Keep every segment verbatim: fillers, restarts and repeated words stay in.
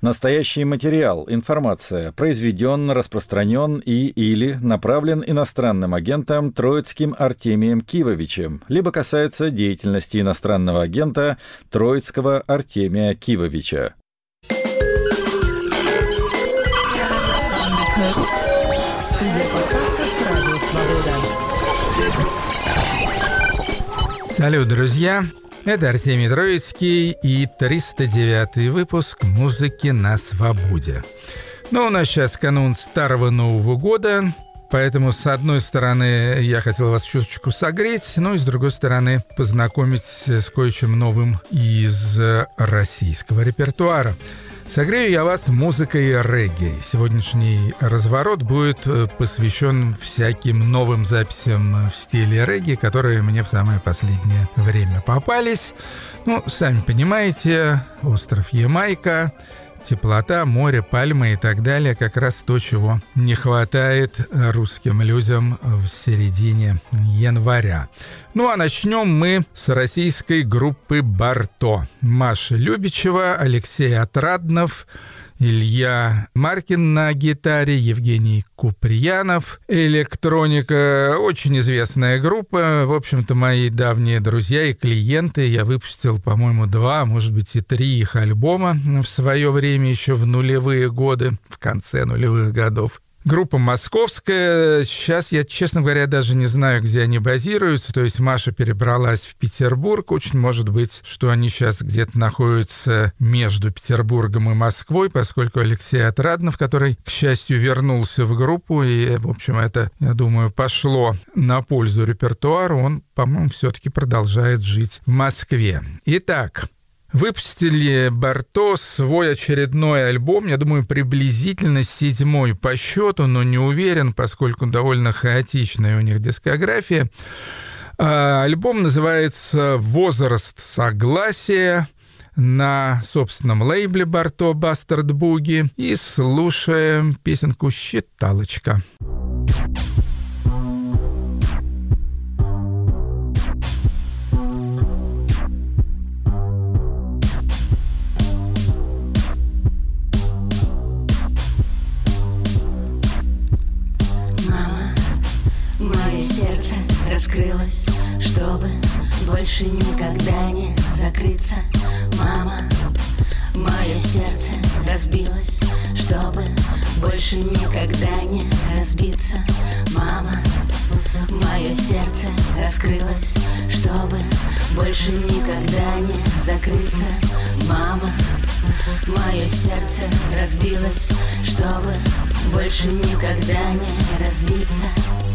Настоящий материал, информация произведен, распространен и или направлен иностранным агентом Троицким Артемием Кивовичем, либо касается деятельности иностранного агента Троицкого Артемия Кивовича. Салют, друзья! Это Артемий Троицкий и триста девятый выпуск «Музыки на свободе». Ну, у нас сейчас канун Старого Нового года, поэтому, с одной стороны, я хотел вас чуточку согреть, ну и, с другой стороны, познакомить с кое-чем новым из российского репертуара. Согрею я вас музыкой регги. Сегодняшний разворот будет посвящен всяким новым записям в стиле регги, которые мне в самое последнее время попались. Ну, сами понимаете, остров Ямайка, теплота, море, пальмы и так далее. Как раз то, чего не хватает русским людям в середине января. Ну а начнем мы с российской группы «Барто». Маша Любичева, Алексей Отраднов, Илья Маркин на гитаре, Евгений Куприянов. Электроника, очень известная группа. В общем-то, мои давние друзья и клиенты. Я выпустил, по-моему, два, может быть, и три их альбома в свое время, еще в нулевые годы, в конце нулевых годов. Группа московская. Сейчас я, честно говоря, даже не знаю, где они базируются. То есть Маша перебралась в Петербург. Очень может быть, что они сейчас где-то находятся между Петербургом и Москвой, поскольку Алексей Отраднов, который, к счастью, вернулся в группу, и, в общем, это, я думаю, пошло на пользу репертуару, он, по-моему, все-таки продолжает жить в Москве. Итак, выпустили Барто свой очередной альбом, я думаю, приблизительно седьмой по счету, но не уверен, поскольку довольно хаотичная у них дискография. Альбом называется «Возраст согласия», на собственном лейбле Барто «Бастард Буги», и слушаем песенку «Считалочка». Сердце раскрылось, чтобы больше никогда не закрыться. Мама, мое сердце разбилось, чтобы больше никогда не разбиться. Мама, мое сердце раскрылось, чтобы больше никогда не закрыться. Мама, мое сердце разбилось, чтобы больше никогда не разбиться.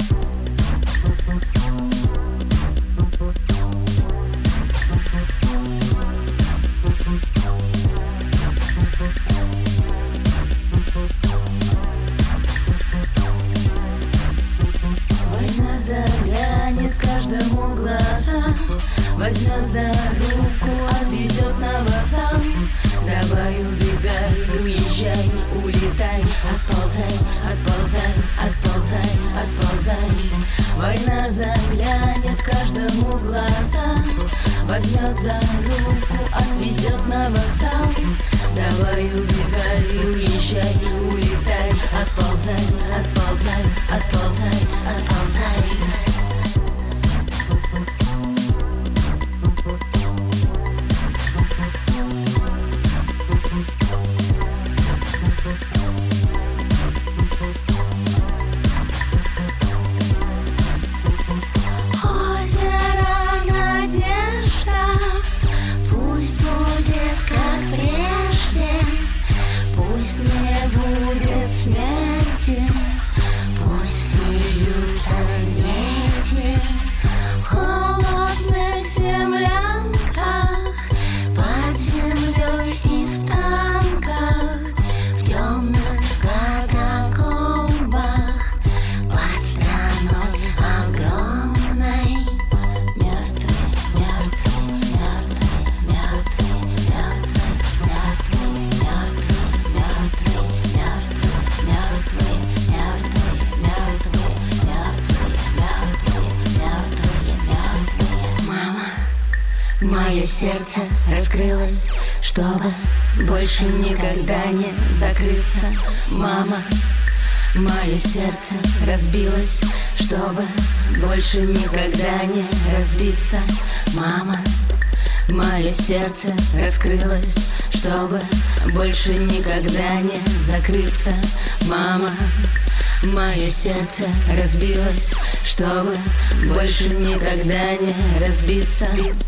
Война заглянет каждому в глаза, возьмет за руку, отвезет на вокзал. Давай убегай, уезжай, улетай, отползай, отползай, отползай, отползай. Война заглянет каждому в глаза, возьмет за руку, отвезет на вокзал. Давай убегай, уезжай, улетай, отползай, отползай, отползай, отползай. Пусть не будет смерти, пусть смеются дети в холодных землянках, под землей и в танках, в темных катакомбах, под страной огромной. Мертвый, мертвый, мертвый, мертвый, мертвый, мертвый, мертвый, мертвый, мертвый, мертвый, мертвый, мертвый, мертвый, мертвый, мертвые, мертвые. Мама, мое сердце раскрылось, чтобы больше никогда не закрыться, мама. Мое сердце разбилось, чтобы больше никогда не разбиться, мама. Мое сердце раскрылось, чтобы больше никогда не закрыться, мама. Мое сердце разбилось, чтобы больше никогда не разбиться.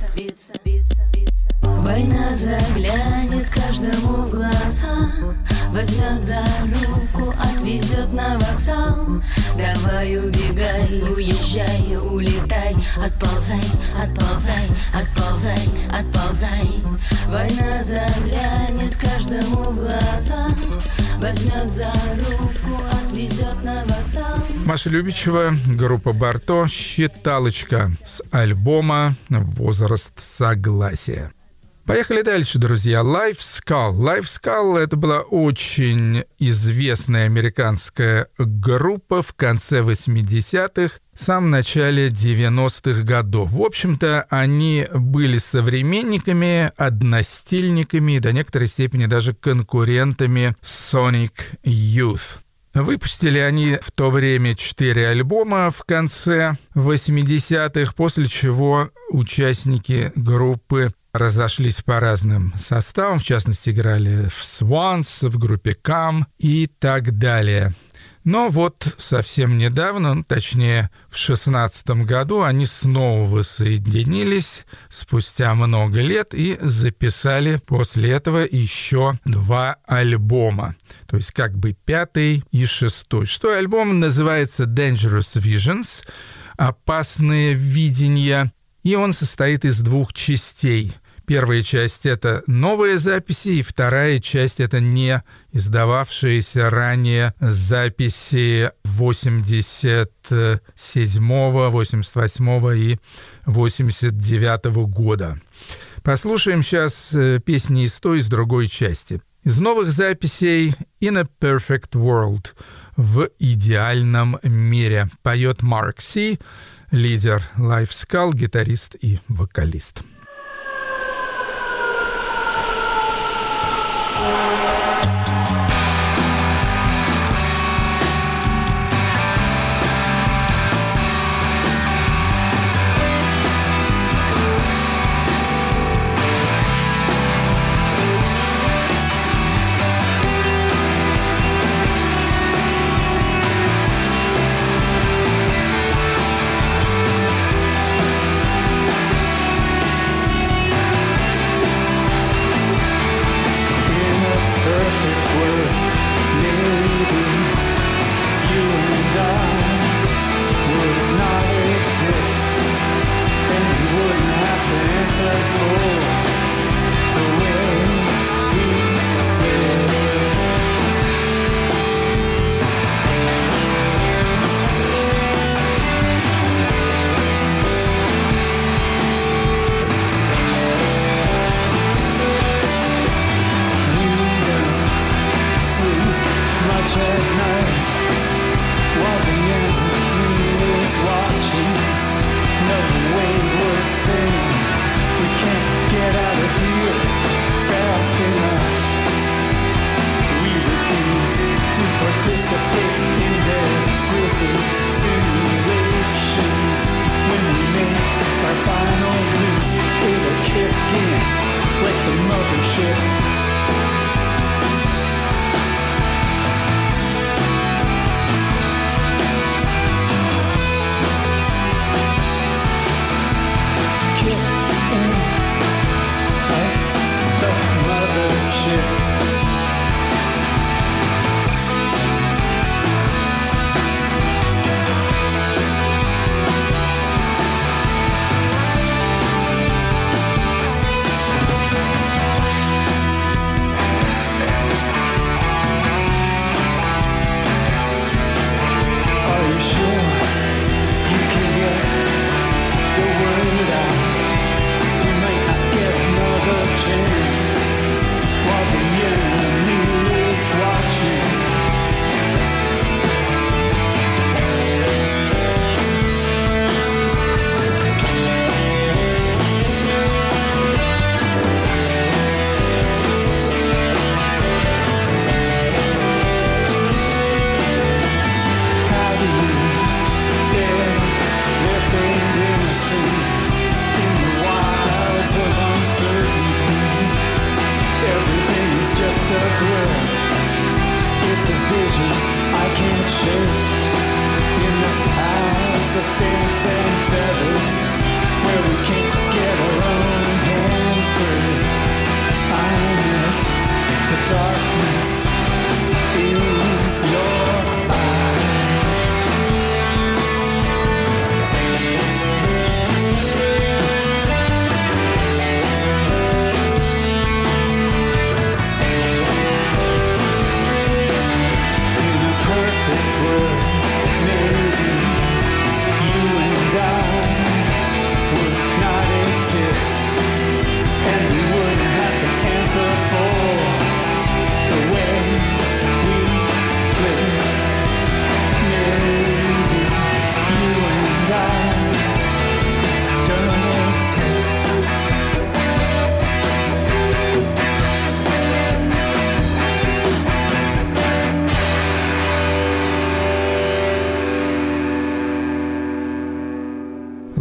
Война заглянет каждому в глаза, возьмет за руку, отвезет на вокзал. Давай убегай, уезжай, улетай, отползай, отползай, отползай, отползай. Война заглянет каждому в глаза, возьмет за руку, отвезет на вокзал. Маша Любичева, группа Барто, «Считалочка» с альбома «Возраст согласия». Поехали дальше, друзья. Live Skull. Live Skull — это была очень известная американская группа в конце восьмидесятых, в самом начале девяностых годов. В общем-то, они были современниками, одностильниками и до некоторой степени даже конкурентами Sonic Youth. Выпустили они в то время четыре альбома в конце восьмидесятых, после чего участники группы разошлись по разным составам, в частности, играли в Swans, в группе Cam и так далее. Но вот совсем недавно, ну, точнее, в шестнадцатом году они снова воссоединились спустя много лет и записали после этого еще два альбома. То есть как бы пятый и шестой. Шестой альбом называется Dangerous Visions, «Опасные видения», и он состоит из двух частей. Первая часть — это новые записи, и вторая часть — это не издававшиеся ранее записи восемьдесят седьмого, восемьдесят восьмого и восемьдесят девятого года. Послушаем сейчас песни из той, из другой части. Из новых записей «In a Perfect World» — «В идеальном мире» поет Марк Си, лидер Live Skull, гитарист и вокалист.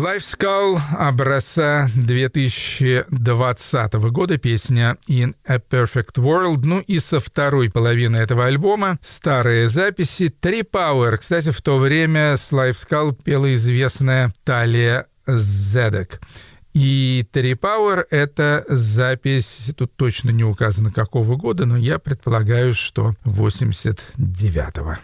Live Skull образца две тысячи двадцатого года, песня «In a Perfect World». Ну и со второй половины этого альбома старые записи Tree Power. Кстати, в то время с Live Skull пела известная Талия Зедек. И Tree Power — это запись, тут точно не указано какого года, но я предполагаю, что восемьдесят девятого.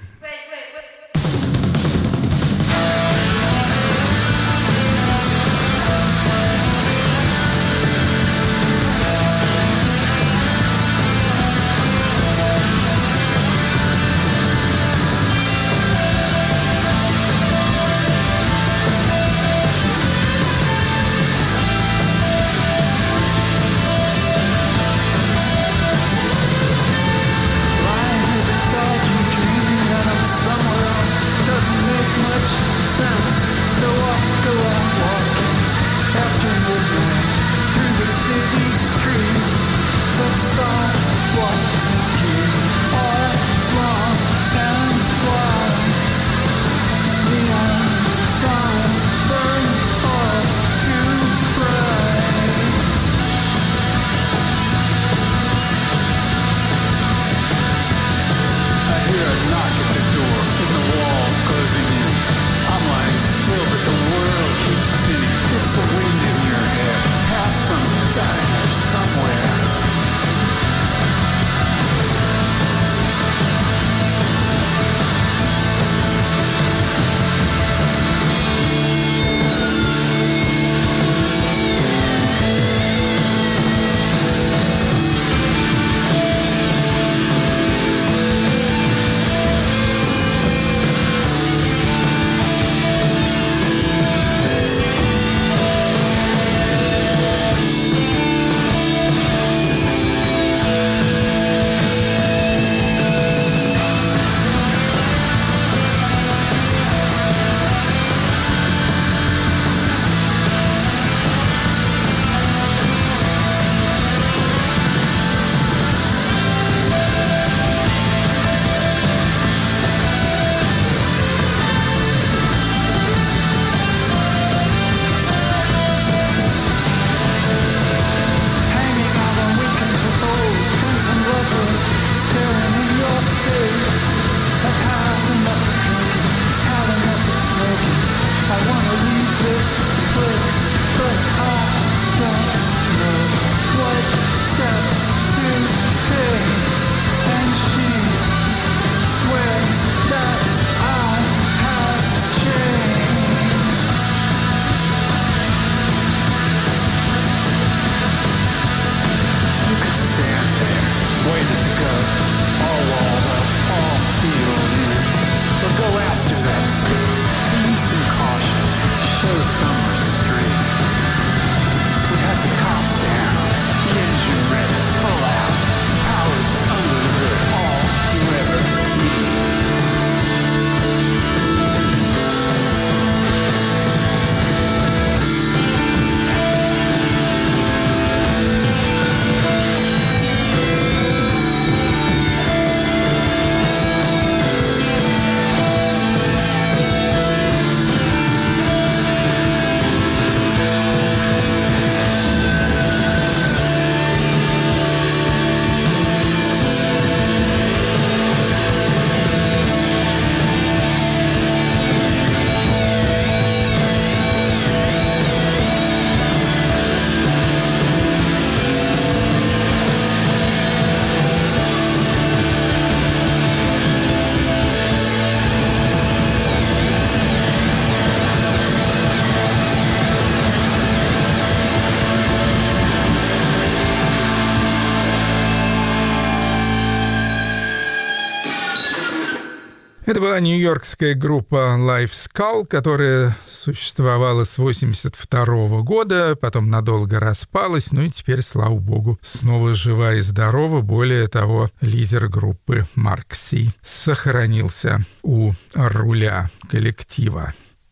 Это была нью-йоркская группа Live Skull, которая существовала с восемьдесят второго года, потом надолго распалась, ну и теперь, слава богу, снова жива и здорова. Более того, лидер группы Марк Си сохранился у руля коллектива.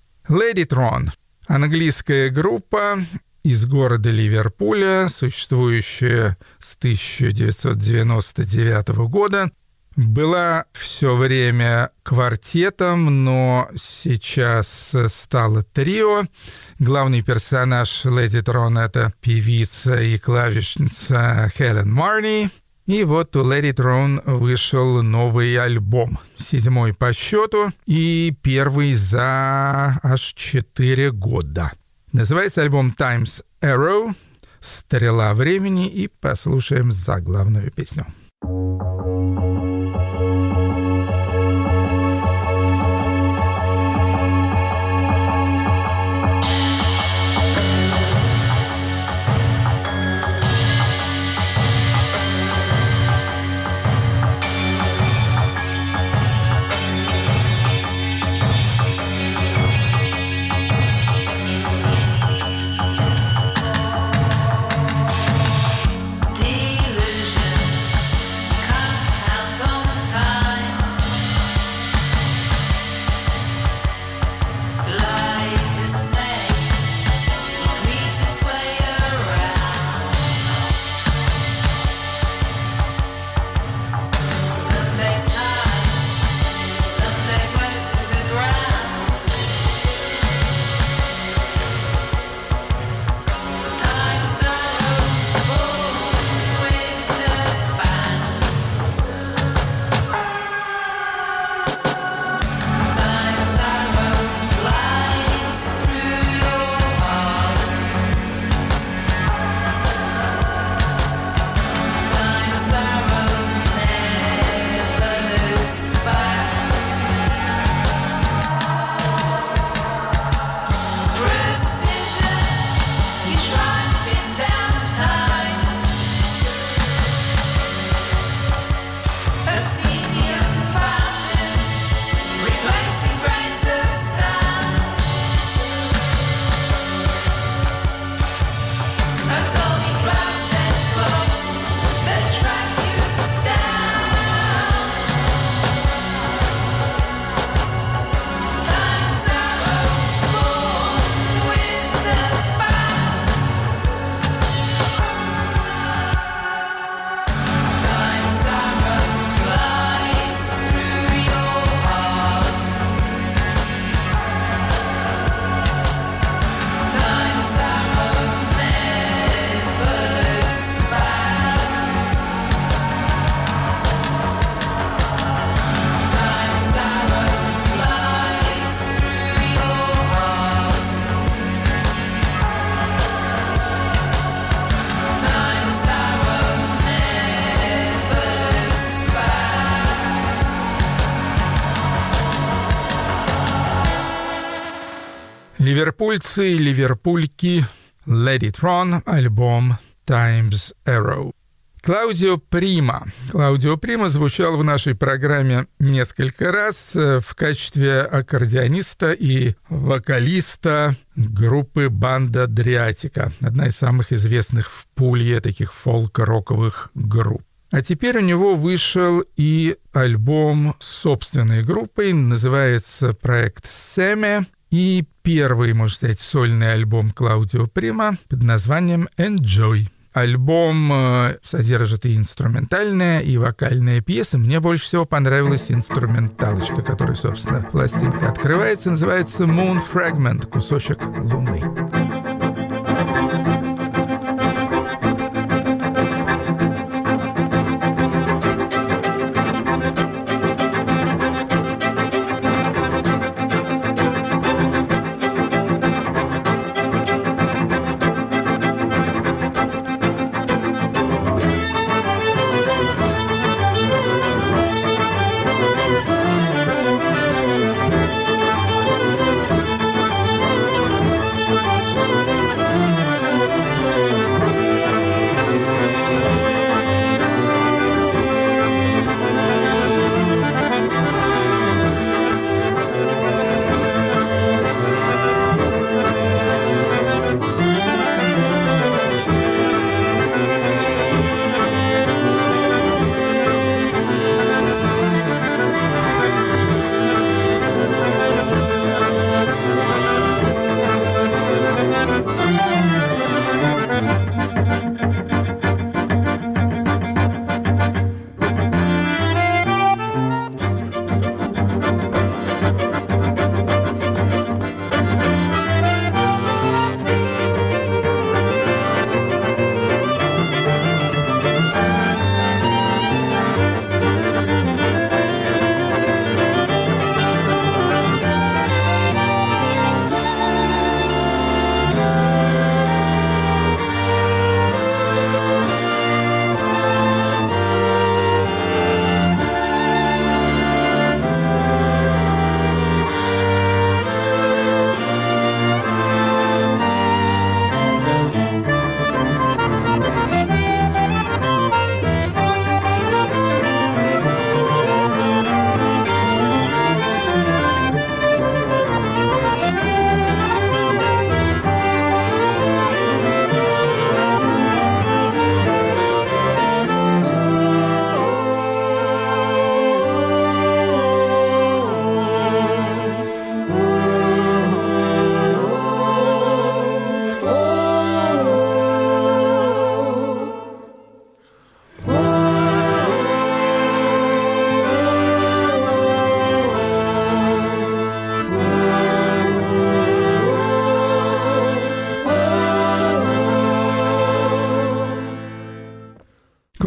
Ladytron — английская группа из города Ливерпуля, существующая с тысяча девятьсот девяносто девятого года. была все время квартетом, но сейчас стала трио. Главный персонаж Леди Трон — это певица и клавишница Хелен Марни. И вот у Леди Трон вышел новый альбом, седьмой по счету и первый за аж четыре года. Называется альбом Time's Arrow, «Стрела времени», и послушаем заглавную песню. Ливерпульцы и ливерпульки, Lady Tron, альбом Time's Arrow. Клаудио Прима. Клаудио Прима звучал в нашей программе несколько раз в качестве аккордеониста и вокалиста группы «Банда Дриатика», одна из самых известных в Пулье таких фолк-роковых групп. А теперь у него вышел и альбом с собственной группой, называется проект «Семе», и первый, можно сказать, сольный альбом Клаудио Прима под названием «Enjoy». Альбом содержит и инструментальные, и вокальные пьесы. Мне больше всего понравилась инструменталочка, которая, собственно, пластинка открывается. Называется «Moon Fragment», кусочек луны.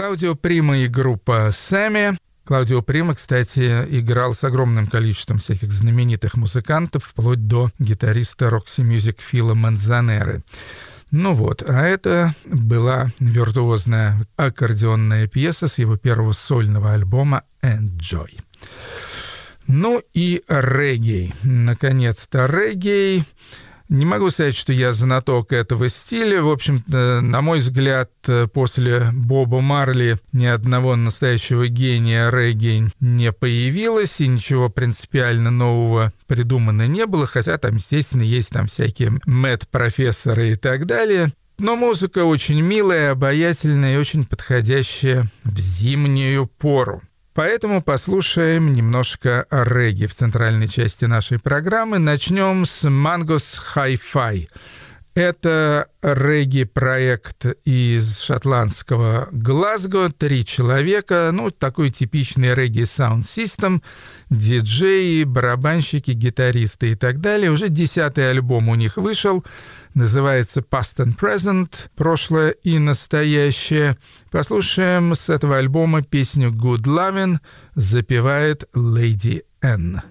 Клаудио Прима и группа Сэмми. Клаудио Прима, кстати, играл с огромным количеством всяких знаменитых музыкантов, вплоть до гитариста Рокси Мьюзик Фила Манзанеры. Ну вот, а это была виртуозная аккордеонная пьеса с его первого сольного альбома «Enjoy». Ну и регги. Наконец-то регги. Не могу сказать, что я знаток этого стиля. В общем-то, на мой взгляд, после Боба Марли ни одного настоящего гения регги не появилось, и ничего принципиально нового придумано не было, хотя там, естественно, есть там всякие Мэтт-профессоры и так далее. Но музыка очень милая, обаятельная и очень подходящая в зимнюю пору. Поэтому послушаем немножко регги в центральной части нашей программы. Начнем с Mangos Hi-Fi. Это регги-проект из шотландского Глазго. Три человека, ну, такой типичный регги-саунд-систем, диджеи, барабанщики, гитаристы и так далее. Уже десятый альбом у них вышел. Называется Past and Present, прошлое и настоящее. Послушаем с этого альбома песню Good Lovin', запевает Lady N.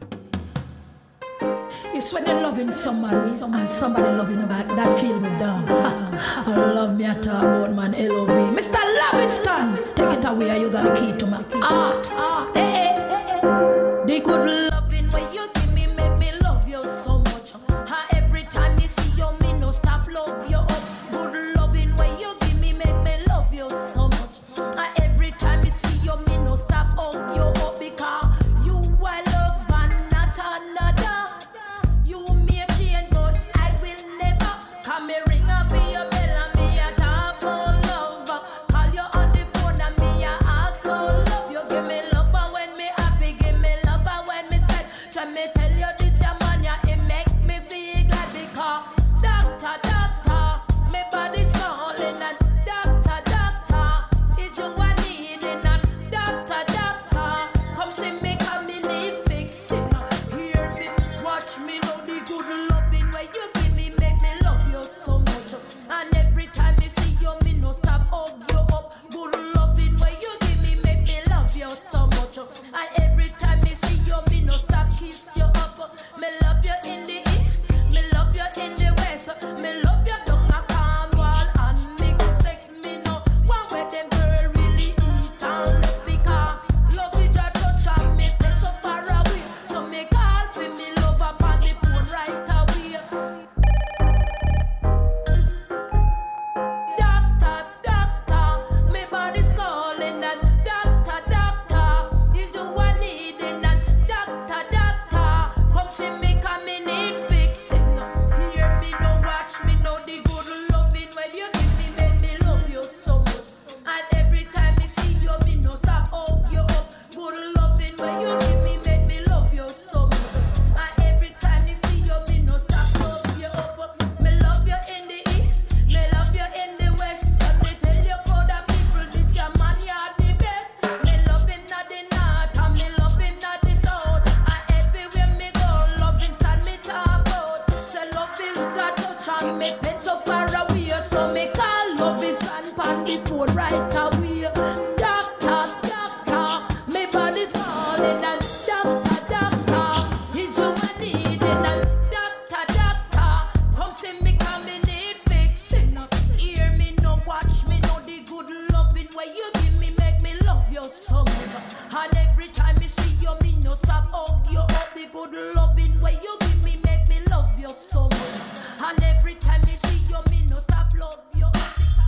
It's when you're loving somebody and somebody loving you back, that feel me down. I love me, I talk about man, L O V. Mister Livingston, take it away, you got a key to my heart. Hey, hey, hey, hey. The good loving where you give me, make me love you so much. Every time you see you, me no stop love you up. Good loving where you give me, make me love you so much. Every time you see you, me no stop hug you up because you I love and not another. Me ring up for your bell and me a talk on love. Call you on the phone and me a ask for love. You give me love and when me happy, give me love and when me sad. So me tell you this your man, yeah, it make me feel glad because doctor, doctor, me body's calling and doctor, doctor, is you a needing and doctor, doctor, come see me, come me need fixing. Hear me, watch me, know the good loving where you give me, make me love you so much. And every time you see you, me no stop hug you up. Good loving where you give me, make me love you so much. And every time you see you, me no stop kiss you up. Me love you in the east, me love you in the west. Me love you down a Cornwall and me go sex me no one where them girl really eat and love because love is a touch and me take so far away. So me call for me love up on the phone right away. Doctor, doctor, my body's calling and doctor, doctor, is you one needing and doctor, doctor, come see me, come me need fixing. Hear me, no watch me, know the good loving when you give me, make me love you so much. And every time me see you, me no stop hug you up. Good loving when you give me, make me love you so much. And every time me see you, me no stop love you up. Me love you in the east, me love you in the west. And me tell you for the people, this your man, you're the best. Me love him not the north, and me love him not the south. And everywhere me go, loving stand me talk about. So love is a touch and me pen so far away. So me call love is stand pan the phone right away. Doctor, doctor, me body's calling and doctor, doctor, is you a needing and doctor, doctor, come see me, come me need fixing. Hear me, no watch me, know the good loving where you give me, make me love you so much. And every time me see you, me no stop hug you up. The good loving where you give me, make me love you so much. And every time me see you, me no stop love you up.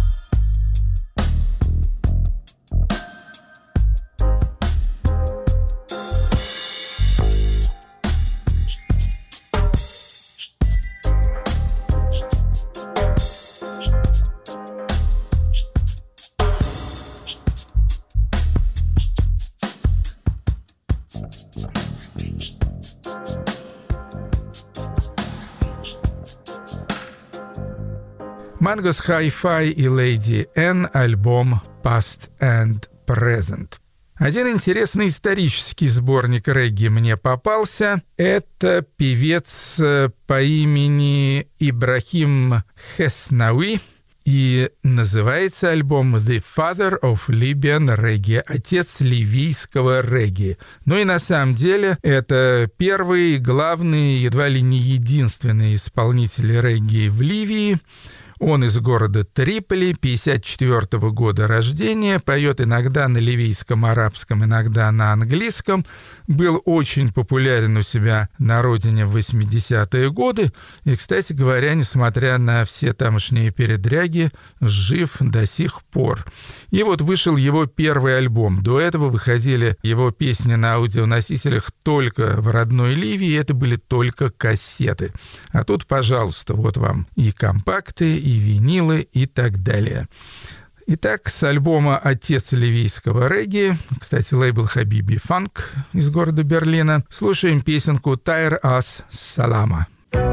Mangos Hi-Fi и Lady N, альбом Past and Present. Один интересный исторический сборник регги мне попался. Это певец по имени Ибрахим Хеснауи. И называется альбом «The Father of Libyan Reggae», «Отец ливийского регги». Ну и на самом деле это первый, главный, едва ли не единственный исполнитель регги в Ливии. Он из города Триполи, пятьдесят четвёртого года рождения, поет иногда на ливийском, арабском, иногда на английском. Был очень популярен у себя на родине в восьмидесятые годы. И, кстати говоря, несмотря на все тамошние передряги, жив до сих пор. И вот вышел его первый альбом. До этого выходили его песни на аудионосителях только в родной Ливии. Это были только кассеты. А тут, пожалуйста, вот вам и компакты, и винилы, и так далее. Итак, с альбома «Отец ливийского регги», кстати, лейбл «Хабиби Фанк» из города Берлина, слушаем песенку «Тайр ас Салама».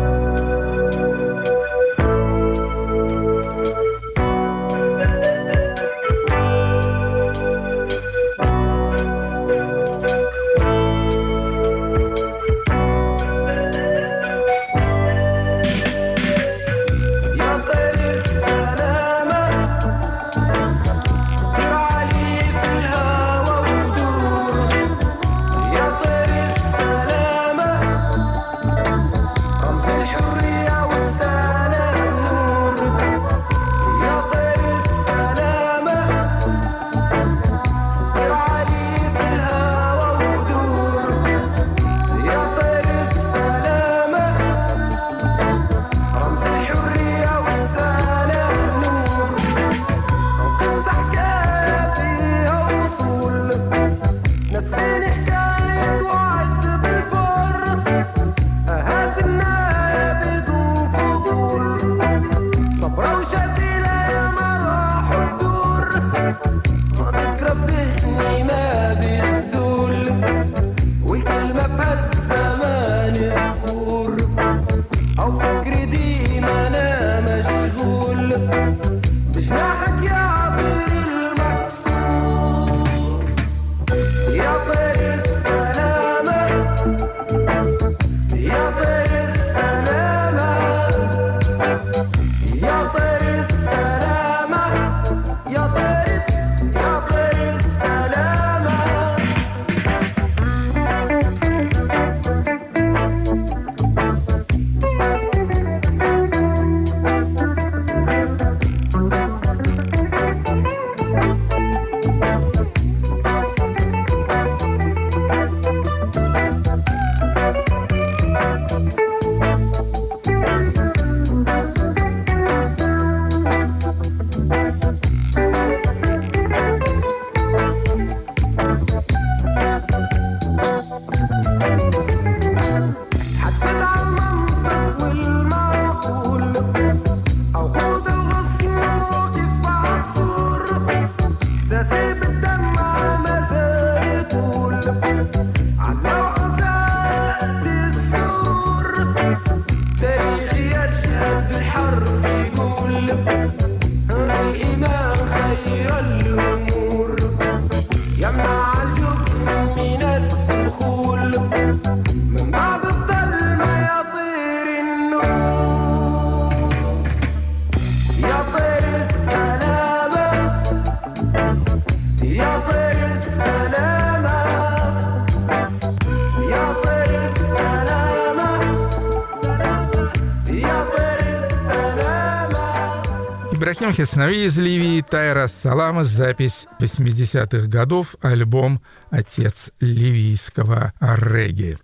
Ибрахим Хеснави из Ливии, «Тайр ас Салама», запись восьмидесятых годов, альбом «Отец ливийского регги».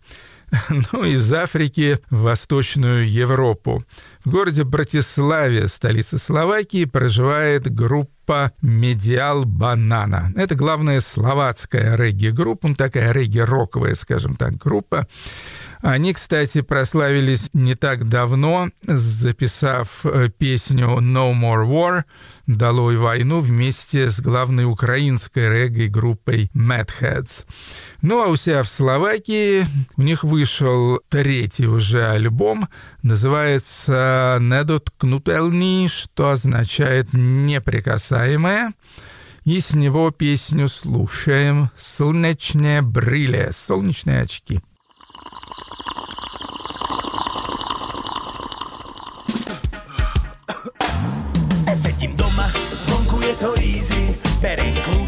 Ну, из Африки в Восточную Европу. В городе Братиславе, столице Словакии, проживает группа «Медиал Банана». Это главная словацкая регги-группа, ну, такая регги-роковая, скажем так, группа. Они, кстати, прославились не так давно, записав песню «No More War», «Долой войну», вместе с главной украинской регги-группой Mad Heads. Ну, а у себя в Словакии у них вышел третий уже альбом, называется «Недоткнутельный», что означает «неприкасаемое». И с него песню слушаем «Солнечные брили», «Солнечные очки».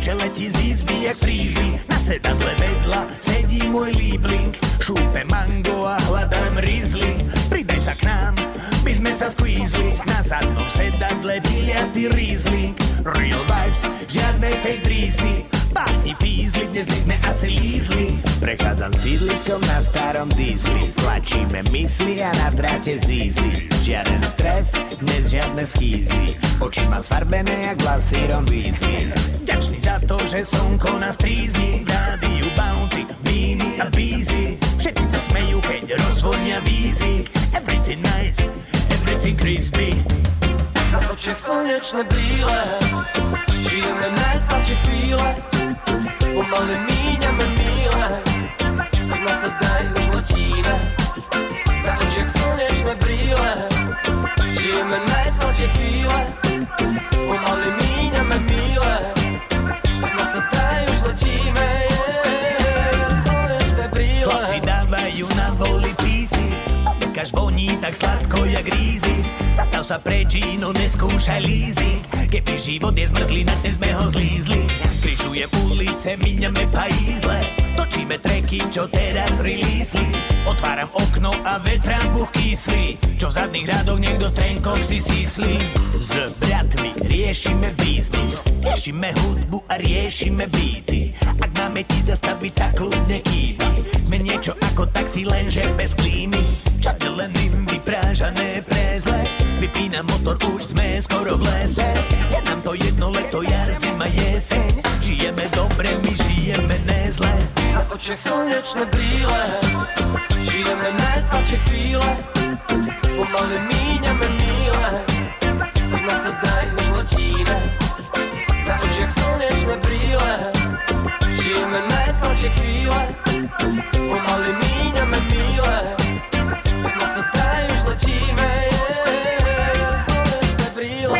Dievče letí z izby jak frisbee. Na sedadle vedľa sedí môj líbling. Šúpe mango a hľadám rizli. Pridaj sa k nám, my sme sa squeezli. Na zadnom sedadle vyliatý Riesling. Real vibes, žiadne fake drísty. Páni fízli, dnes by sme asi lízli. Prechádzam sídliskom na starom dízli. Tlačíme mysli a na dráte zízli. Žiaden stres, dnes žiadne schýzy. Oči mám sfarbené jak vlasy Ron Weasley. Ďačný za to, že slnko nás trízni. Rádiu Bounty, Beanie a Beezy. Všetci sa smejú, keď rozvonia vízy. Everything nice, everything crispy. Na očiach slnečné brýle, žijeme najsladšie chvíle. Pomaly míňame míle, tak nás sa daj, už letíme. Na očiach slnečné brýle, žijeme najsladšie chvíle. Pomaly míňame míle, tak nás sa daj, už letíme. Yeah, slnečné brýle. Chlapci dávajú na voli písy. Obekaž voní tak sladko jak rízis. Zastav sa preč, no neskúšaj leasing. Keby život je zmrzlina, dnes sme ho zlízli. Križujem ulice, míňame pajízle. Točíme treky, čo teraz releasli. Otváram okno a vetrám puch kyslý. Čo v zadných radoch niekto v trenkoch si síslí. S bratmi riešime biznis. Riešime hudbu a riešime beaty. Ak máme ti zastaviť, tak kľudne kývni. Sme niečo ako taxi, lenže bez klímy. Čade len im vyprážané prezle. Vypínam motor, už sme skoro v lese. Je nám to jedno leto, jar, zima, jeseň. Žijeme dobre, my žijeme nezle. Na očiach slnečné brýle, žijeme najsladšie chvíle. Pomaly míňame míle, tak nás sa daj, už letíme. Na očiach slnečné brýle, žijeme najsladšie chvíle. Pomaly míňame míle, tak nás sa daj, už letíme. Yeah, slnečné brýle.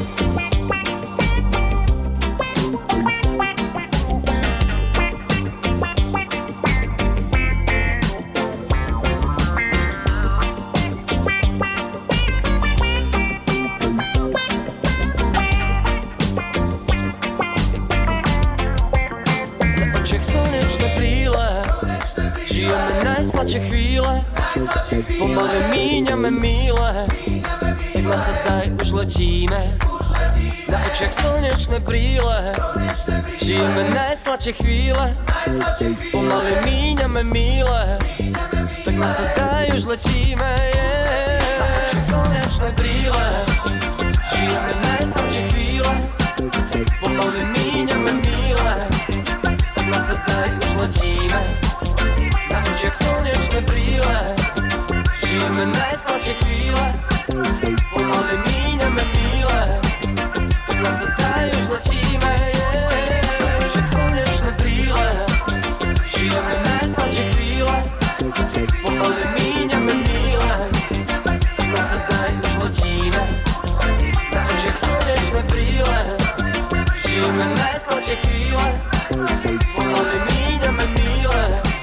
Najsladšie chvíle, pomaly míňame míle, tak nás sa daj, už letíme. Na očiach slnečné brýle, žijeme najsladšie chvíle, pomaly míňame míle, tak nás sa daj, už letíme. Yeah. Na očiach slnečné brýle, žijeme najsladšie chvíle, pomaly míňame míle, tak nás sa daj, už letíme. Na očiach slnečné brýle, žijeme najsladšie chvíle. Pomaly míňame míle, tak nás sa daj, už letíme. Yeah. Na očiach slnečné brýle, žijeme najsladšie chvíle. Pomaly míňame míle, tak nás sa daj, už letíme. Na očiach slnečné brýle, žijeme najsladšie chvíle. Pomaly míňame míle,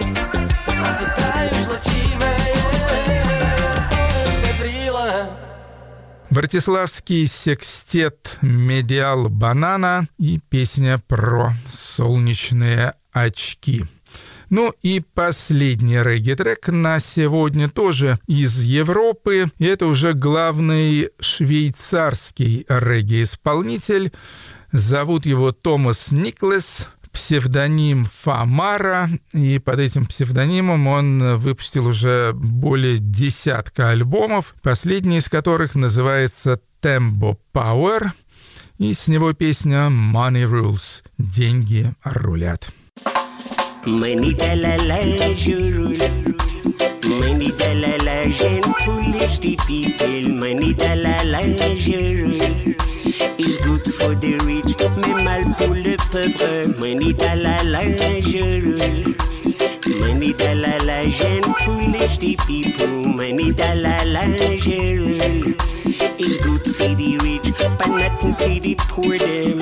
Братиславский секстет «Медиал Банана» и песня про солнечные очки. Ну и последний регги-трек на сегодня тоже из Европы. И это уже главный швейцарский регги-исполнитель. Зовут его Томас Никлес. Псевдоним Фамара, и под этим псевдонимом он выпустил уже более десятка альбомов, последний из которых называется «Tempo Power», и с него песня «Money Rules» — «Деньги рулят». Money dalala, je roule. Money dalala, j'aime foolish the people. Money dalala, je roule. It's good for the rich, mais mal pour le pauvre. Money dalala, je roule. Money dalala, j'aime foolish the people. Money dalala, je roule. It's good for the rich, but nothing for the poor them.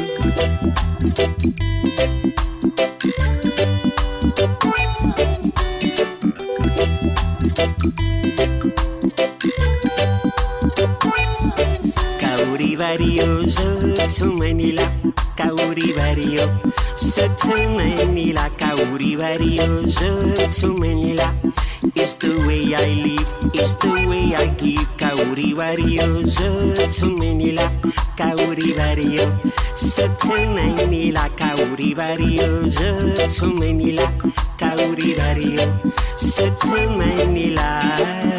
Kauri vario, so so Manila. Kauri vario, Sotto Manila, Kauri varioso. Sotto Manila, it's the way I live, it's the way I give. Kauri varioso. Sotto Manila, Kauri vario. Sotto Manila, Kauri varioso. Sotto Manila, Kauri vario. Sotto Manila,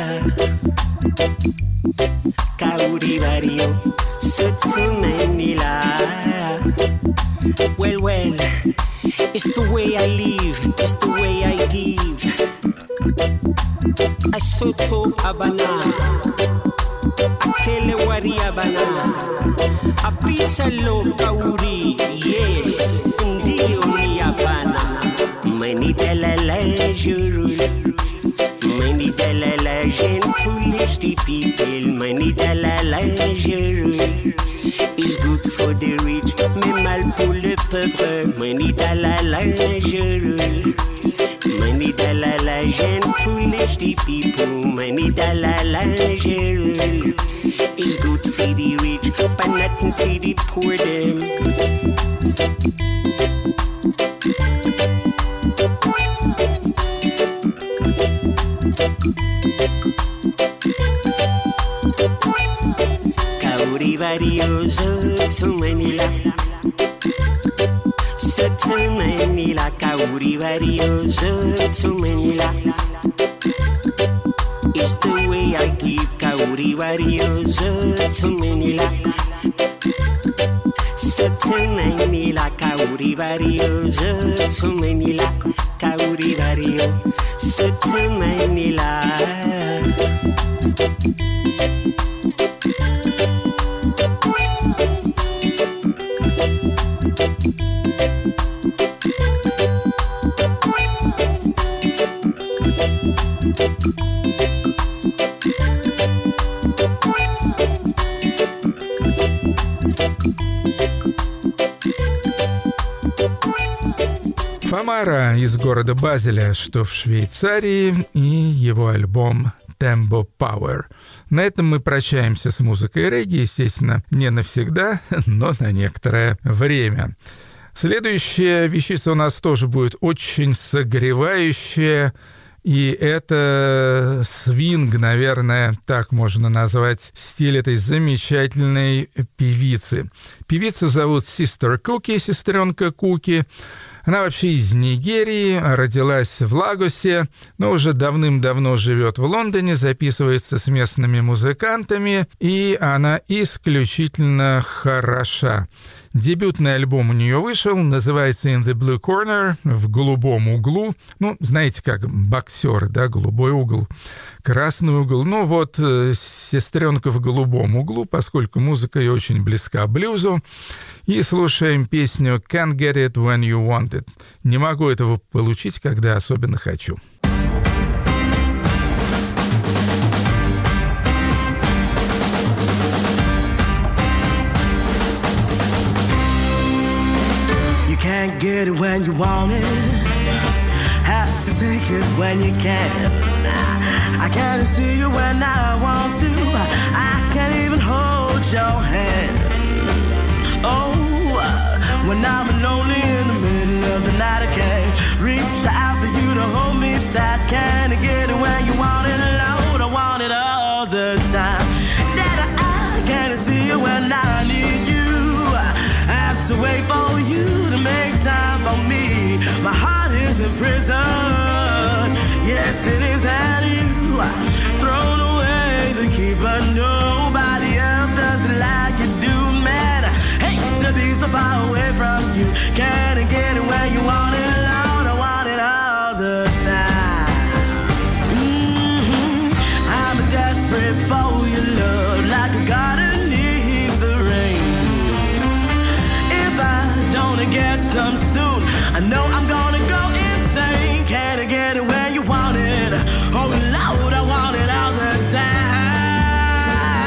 Kauri vario. Sotto Manila. Well, well, it's the way I live, it's the way I give. I soto abana, akele wari abana. A piece of love kauri, yes, ndio ni abana. Mani dalala jurul, mani dalala jen foolish the people. Mani dalala jurul. Is good for the rich, mais mal pour le pauvre. Money dalala, je roule. Money dalala, j'aime foolish the people. Money dalala, je roule. Is good for the rich, but nothing for the poor them. Kauri varioso, Sotto Manila. Sotto Manila, Kauri varioso, Sotto Manila. It's the way I give. Kauri varioso, Sotto Manila. Sotto Manila, Kauri varioso, Sotto Manila. Kauri vario, Sotto Manila. Фамара из города Базеля, что в Швейцарии, и его альбом «Tembo Power». На этом мы прощаемся с музыкой регги, естественно, не навсегда, но на некоторое время. Следующая вещица у нас тоже будет очень согревающая, и это свинг, наверное, так можно назвать стиль этой замечательной певицы. Певицу зовут Sister Cookie, сестренка Куки. Она вообще из Нигерии, родилась в Лагосе, но уже давным-давно живет в Лондоне, записывается с местными музыкантами, и она исключительно хороша. Дебютный альбом у нее вышел, называется «In the Blue Corner», в голубом углу. Ну, знаете, как боксеры, да, голубой угол, красный угол. Ну, вот сестренка в голубом углу, поскольку музыка ее очень близка блюзу. И слушаем песню «Can't get it when you want it». Не могу этого получить, когда особенно хочу. Can't get it when you want it. Have to take it when you can. I can't see you when I want to. I can't even hold your hand. Oh, when I'm lonely in the middle of the night, I can't reach out for you to hold me tight. Can't get it when you want it, Lord. I want it all the time. That I can't see you when I need you. I have to wait for you to make time for me. My heart is in prison. Yes, it is, and you thrown away the key, but nobody else does it like you do, man. I hate to be so far away from you. Can't get it when you want it, Lord. I want it all the time. Mm-hmm. I'm desperate for your love, like a garden needs the rain. If I don't get some soon, I know I'm gonna go insane. Can't get it when you want it. Oh Lord, I want it all the time.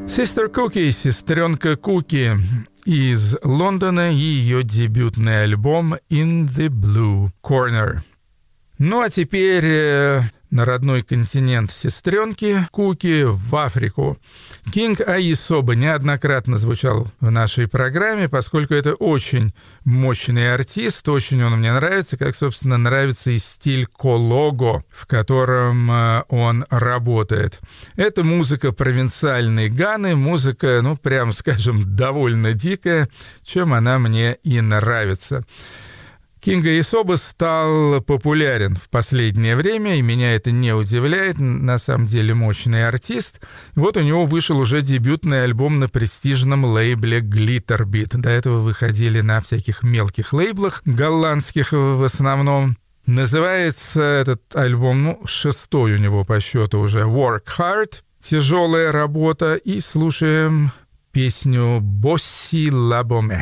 Sister Cookie, сестренка Куки из Лондона и ее дебютный альбом In the Blue Corner. Ну а теперь э, на родной континент сестренки Куки, в Африку. Кинг Аисоба неоднократно звучал в нашей программе, поскольку это очень мощный артист, очень он мне нравится, как, собственно, нравится и стиль колого, в котором э, он работает. Это музыка провинциальной Ганы, музыка, ну, прям скажем, довольно дикая, чем она мне и нравится. Кинг Аисоба стал популярен в последнее время, и меня это не удивляет, на самом деле мощный артист. Вот у него вышел уже дебютный альбом на престижном лейбле Glitterbeat. До этого выходили на всяких мелких лейблах, голландских в основном. Называется этот альбом, ну, шестой у него по счету уже, Work Hard, тяжелая работа, и слушаем песню «Босси Лабоме».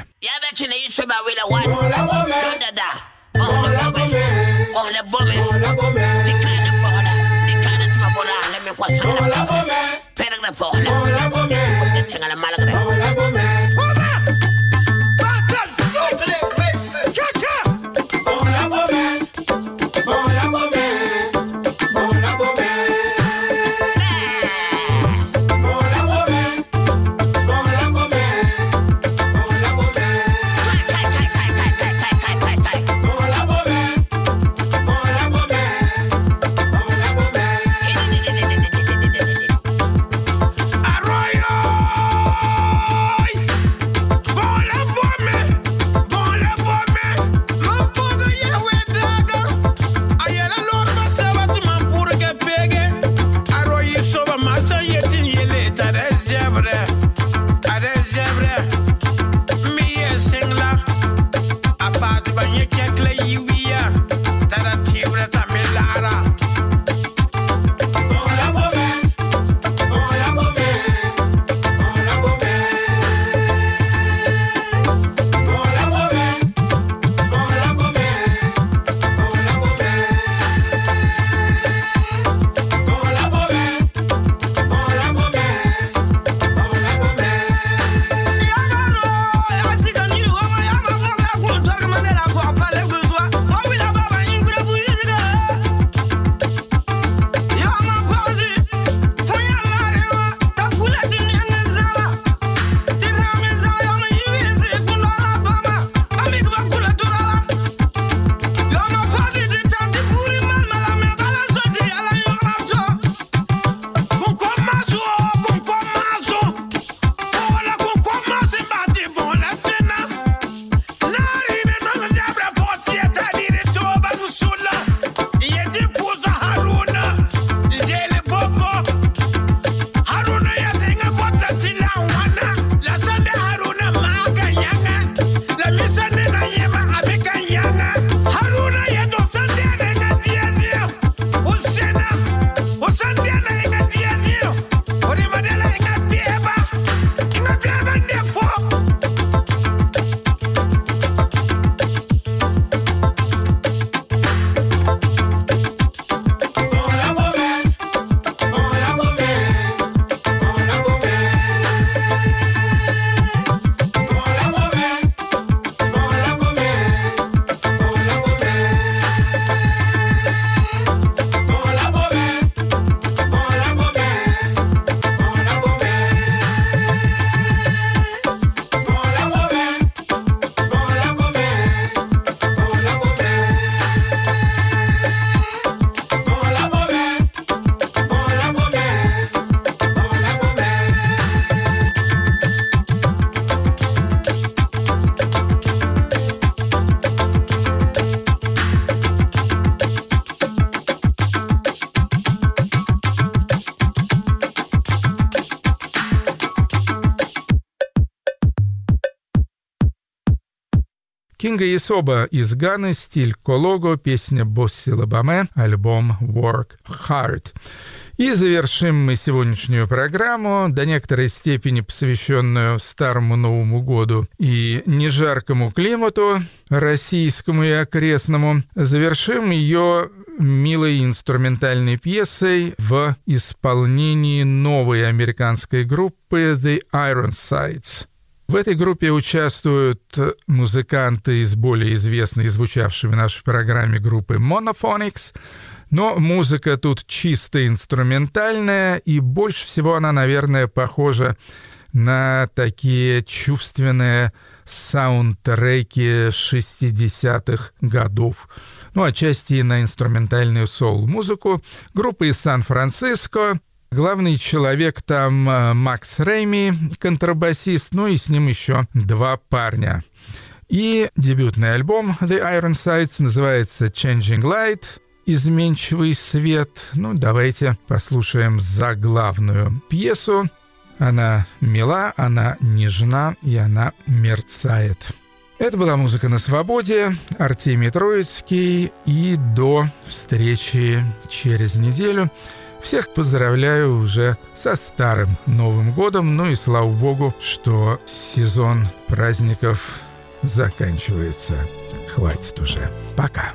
Кинга Исоба из Ганы, стиль колого, песня «Босси Лабаме», альбом «Work Hard». И завершим мы сегодняшнюю программу, до некоторой степени посвященную Старому Новому году и нежаркому климату российскому и окрестному. Завершим ее милой инструментальной пьесой в исполнении новой американской группы The Ironsides. В этой группе участвуют музыканты из более известной и звучавшей в нашей программе группы Monophonics, но музыка тут чисто инструментальная, и больше всего она, наверное, похожа на такие чувственные саундтреки шестидесятых годов. Ну, отчасти и на инструментальную соул-музыку. Группа из Сан-Франциско. Главный человек там Макс Рейми, контрабасист, ну и с ним еще два парня. И дебютный альбом The Ironsides называется Changing Light, изменчивый свет. Ну, давайте послушаем заглавную пьесу. Она мила, она нежна и она мерцает. Это была «Музыка на свободе», Артемий Троицкий, и до встречи через неделю. Всех поздравляю уже со Старым Новым годом, ну и слава богу, что сезон праздников заканчивается. Хватит уже. Пока.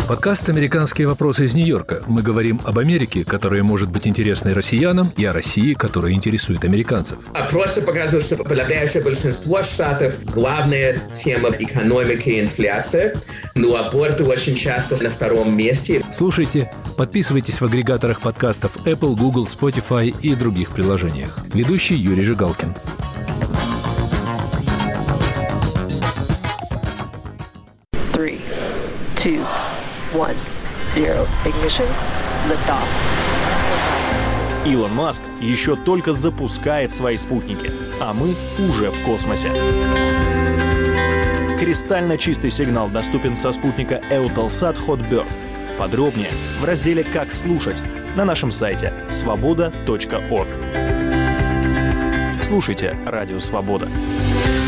Подкаст «Американские вопросы» из Нью-Йорка. Мы говорим об Америке, которая может быть интересной россиянам, и о России, которая интересует американцев. Опросы показывают, что подавляющее большинство штатов главная тема экономики и инфляция, но аборты очень часто на втором месте. Слушайте, подписывайтесь в агрегаторах подкастов Apple, Google, Spotify и других приложениях. Ведущий Юрий Жигалкин. Three, two, one, zero. Ignition. Liftoff. Илон Маск еще только запускает свои спутники, а мы уже в космосе. Кристально чистый сигнал доступен со спутника Eutelsat Hotbird. Подробнее в разделе «Как слушать» на нашем сайте свобода точка орг. Слушайте Радио Свобода.